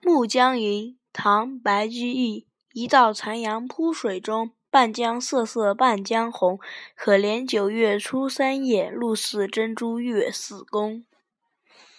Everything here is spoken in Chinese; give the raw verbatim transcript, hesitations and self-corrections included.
暮江吟，唐·白居易。一道残阳铺水中，半江瑟瑟半江红。可怜九月初三夜，露似真珠月似弓。